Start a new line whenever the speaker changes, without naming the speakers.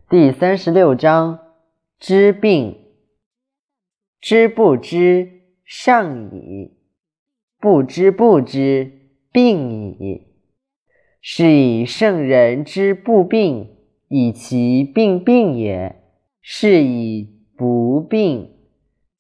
第36章知病。知不知，上矣；不知不知，病矣。是以圣人之不病，以其病病也；是以不病，